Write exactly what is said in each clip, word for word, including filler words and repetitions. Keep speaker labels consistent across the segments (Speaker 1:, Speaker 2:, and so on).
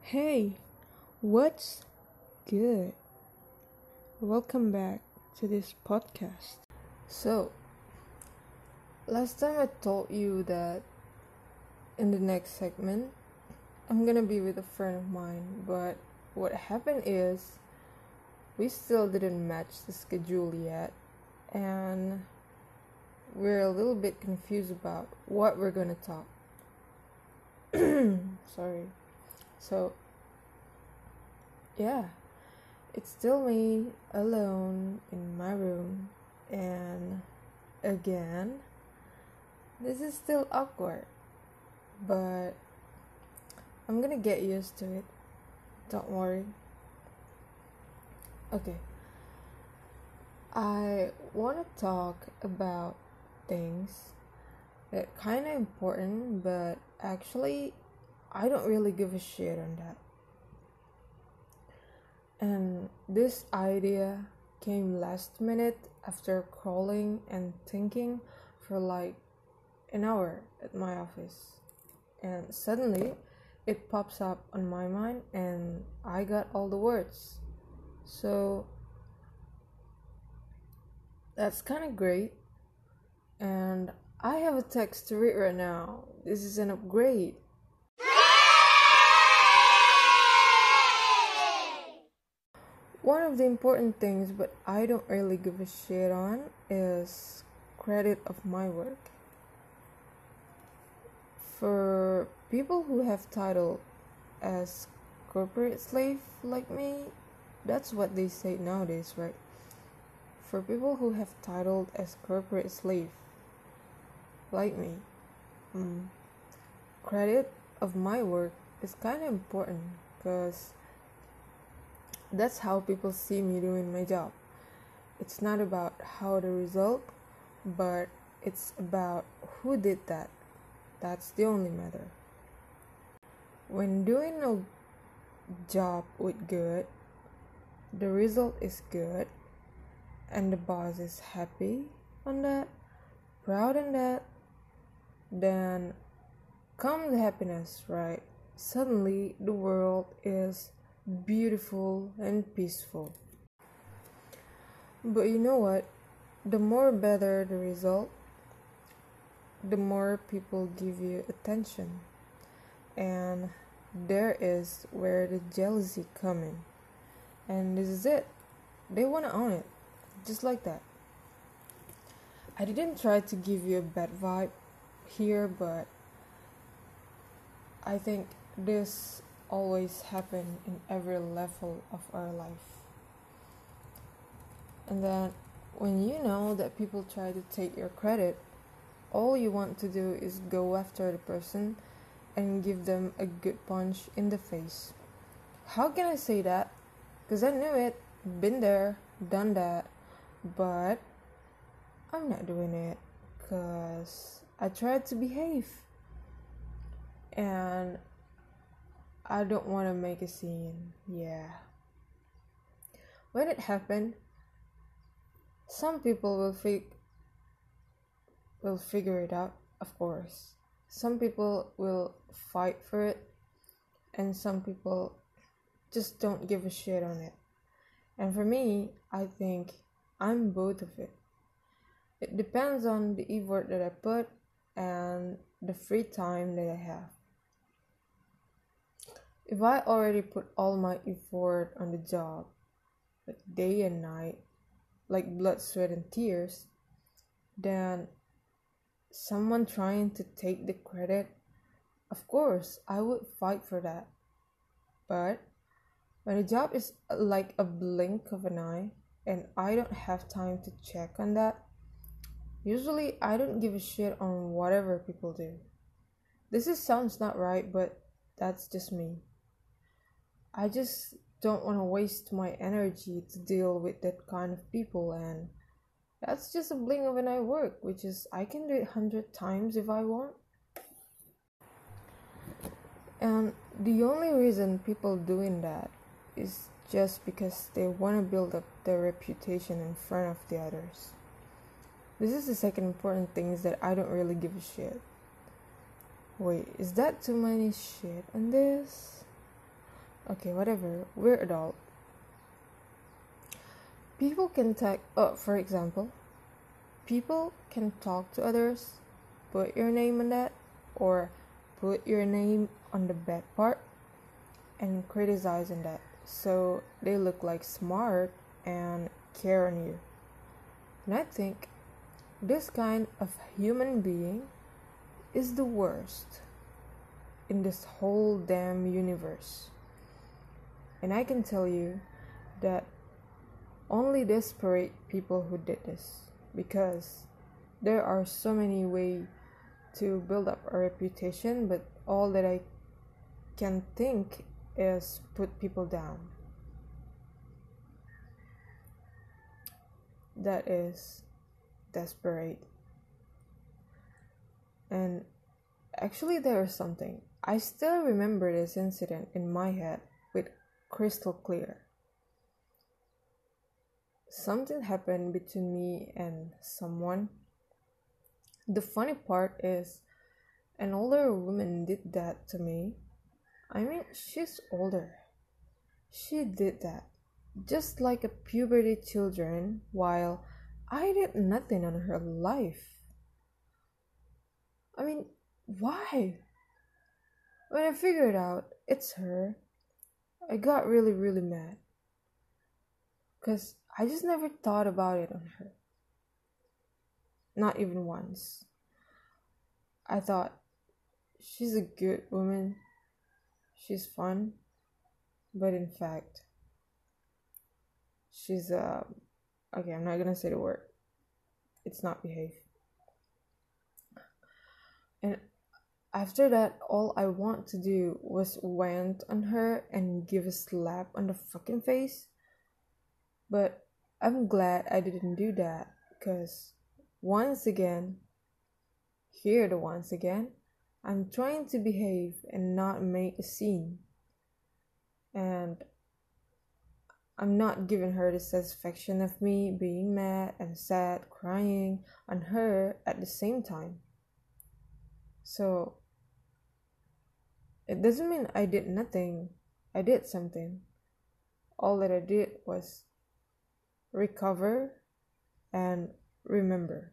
Speaker 1: Hey, what's good? Welcome back to this podcast. So, last time I told you that in the next segment, I'm gonna be with a friend of mine, but what happened is we still didn't match the schedule yet, and we're a little bit confused about what we're gonna talk. Sorry. So, yeah, it's still me alone in my room, and again, this is still awkward, but I'm gonna get used to it. Don't worry. Okay, I want to talk about things that kind of important, but actually, I don't really give a shit on that. And this idea came last minute after crawling and thinking for like an hour at my office. And suddenly it pops up on my mind and I got all the words. So that's kind of great. And I have a text to read right now. This is an upgrade. One of the important things, but I don't really give a shit on, is credit of my work. For people who have title as corporate slave like me, that's what they say nowadays, right? For people who have titled as corporate slave like me, mm, credit of my work is kind of important because that's how people see me doing my job. It's not about how the result, but it's about who did that. That's the only matter. When doing a job with good, the result is good, and the boss is happy on that, proud on that, then come the happiness, right? Suddenly the world is beautiful and peaceful. But you know what? The more better the result, the more people give you attention. And there is where the jealousy come in. And this is it. They want to own it. Just like that. I didn't try to give you a bad vibe here, but I think this always happen in every level of our life. And then when you know that people try to take your credit, all you want to do is go after the person and give them a good punch in the face. How can I say that? Because I knew it, been there, done that, but I'm not doing it because I tried to behave. And I don't want to make a scene, yeah. When it happened, some people will fig- will figure it out, of course. Some people will fight for it, and some people just don't give a shit on it. And for me, I think I'm both of it. It depends on the effort that I put and the free time that I have. If I already put all my effort on the job, like day and night, like blood, sweat, and tears, then someone trying to take the credit, of course, I would fight for that. But when a job is like a blink of an eye, and I don't have time to check on that, usually I don't give a shit on whatever people do. This is sounds not right, but that's just me. I just don't want to waste my energy to deal with that kind of people, and that's just a blink of an eye work, which is I can do it hundred times if I want. And the only reason people doing that is just because they want to build up their reputation in front of the others. This is the second important thing, is that I don't really give a shit. Wait, is that too many shit on this? Okay, whatever. We're adult. People can talk. Oh, for example, people can talk to others, put your name on that, or put your name on the bad part, and criticize on that, so they look like smart and care on you. And I think this kind of human being is the worst in this whole damn universe. And I can tell you that only desperate people who did this, because there are so many ways to build up a reputation, but all that I can think is put people down. That is desperate. And actually, there is something. I still remember this incident in my head with crystal clear. Something happened between me and someone. The funny part is, an older woman did that to me. I mean, she's older. She did that, just like a puberty children, while I did nothing on her life. I mean, why? When I figured out it's her, I got really, really mad. Because I just never thought about it on her. Not even once. I thought, she's a good woman. She's fun. But in fact, she's uh okay, I'm not gonna say the word. It's not behave. And after that, all I want to do was went on her and give a slap on the fucking face. But I'm glad I didn't do that, because once again, here the once again, I'm trying to behave and not make a scene. And I'm not giving her the satisfaction of me being mad and sad, crying on her at the same time. So, it doesn't mean I did nothing. I did something. All that I did was recover and remember.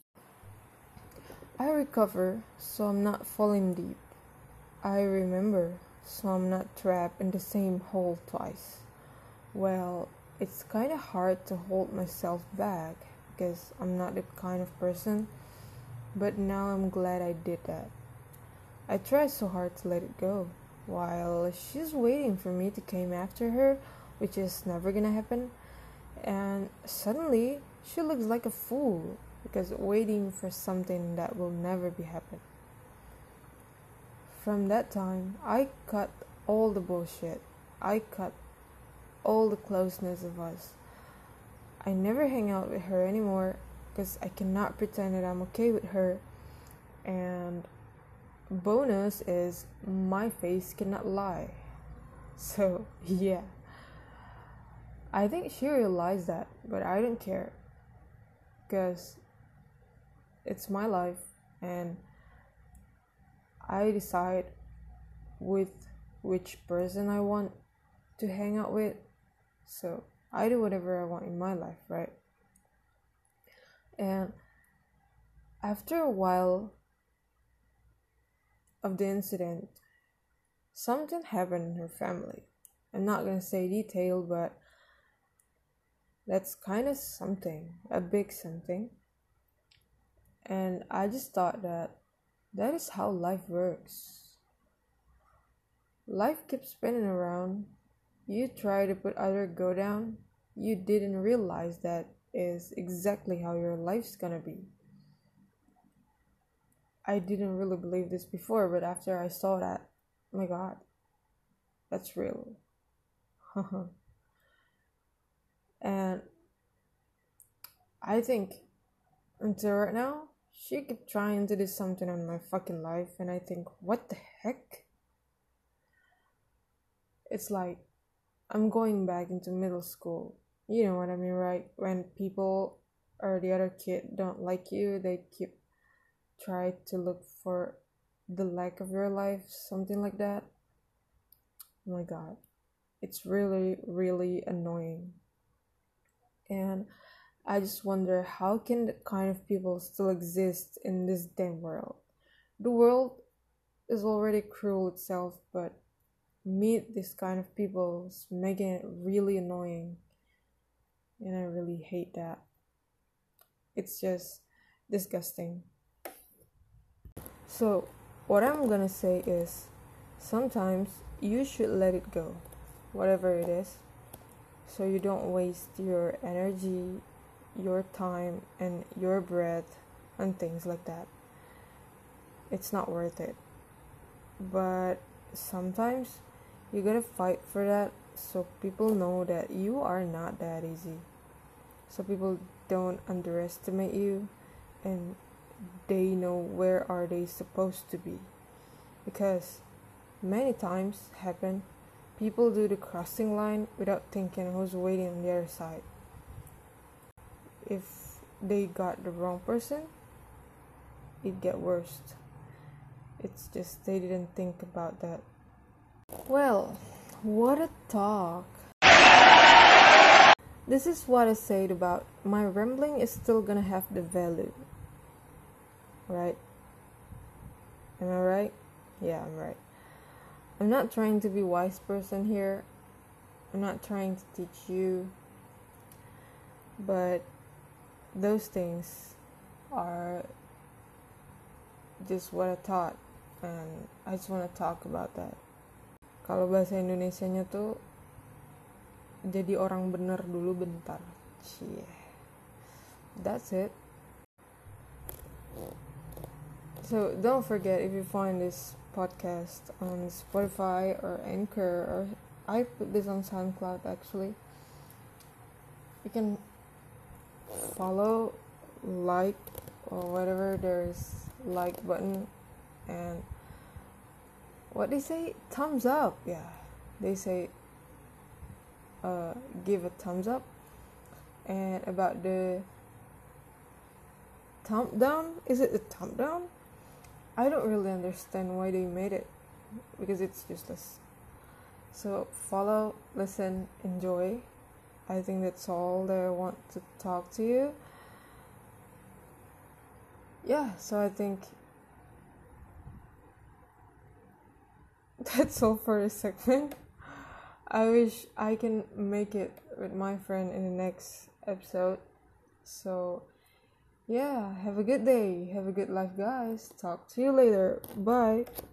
Speaker 1: I recover so I'm not falling deep. I remember so I'm not trapped in the same hole twice. Well, it's kind of hard to hold myself back because I'm not that kind of person, but now I'm glad I did that. I tried so hard to let it go, while she's waiting for me to come after her, which is never gonna happen, and suddenly she looks like a fool because waiting for something that will never be happen. From that time, I cut all the bullshit. I cut all the closeness of us. I never hang out with her anymore because I cannot pretend that I'm okay with her. And bonus is my face cannot lie. So yeah, I think she realized that, but I don't care because it's my life and I decide with which person I want to hang out with. So I do whatever I want in my life, right? And after a while of the incident, something happened in her family. I'm not gonna say detail, but that's kind of something, a big something. And I just thought that that is how life works. Life keeps spinning around. You try to put other go down. You didn't realize that is exactly how your life's gonna be. I didn't really believe this before, but after I saw that, oh my god, that's real. And I think until right now, she kept trying to do something on my fucking life, and I think, what the heck? It's like I'm going back into middle school. You know what I mean, right? When people or the other kid don't like you, they keep try to look for the lack of your life, something like that. Oh my god. It's really, really annoying. And I just wonder, how can that kind of people still exist in this damn world? The world is already cruel itself, but meet this kind of people is making it really annoying. And I really hate that. It's just disgusting. So, what I'm gonna say is, sometimes you should let it go, whatever it is, so you don't waste your energy, your time, and your breath on things like that. It's not worth it. But sometimes you gotta fight for that, so people know that you are not that easy. So people don't underestimate you, and they know where are they supposed to be. Because many times happen, people do the crossing line without thinking who's waiting on the other side. If they got the wrong person, it get worse. It's just they didn't think about that. Well, what a talk. This is what I said about my rambling is still gonna have the value. Right? Am I right? Yeah, I'm right. I'm not trying to be a wise person here. I'm not trying to teach you. But those things are just what I thought. And I just want to talk about that. Kalau bahasa Indonesianya tuh, jadi orang bener dulu bentar. Cie. That's it. So don't forget, if you find this podcast on Spotify or Anchor, or I put this on SoundCloud actually, you can follow, like, or whatever, there's like button, and what they say, thumbs up. Yeah, they say uh give a thumbs up. And about the thumb down, is it a thumb down? I don't really understand why they made it, because it's useless. So follow, listen, enjoy. I think that's all that I want to talk to you. Yeah, so I think that's all for this segment. I wish I can make it with my friend in the next episode. So yeah, have a good day. Have a good life, guys. Talk to you later. Bye.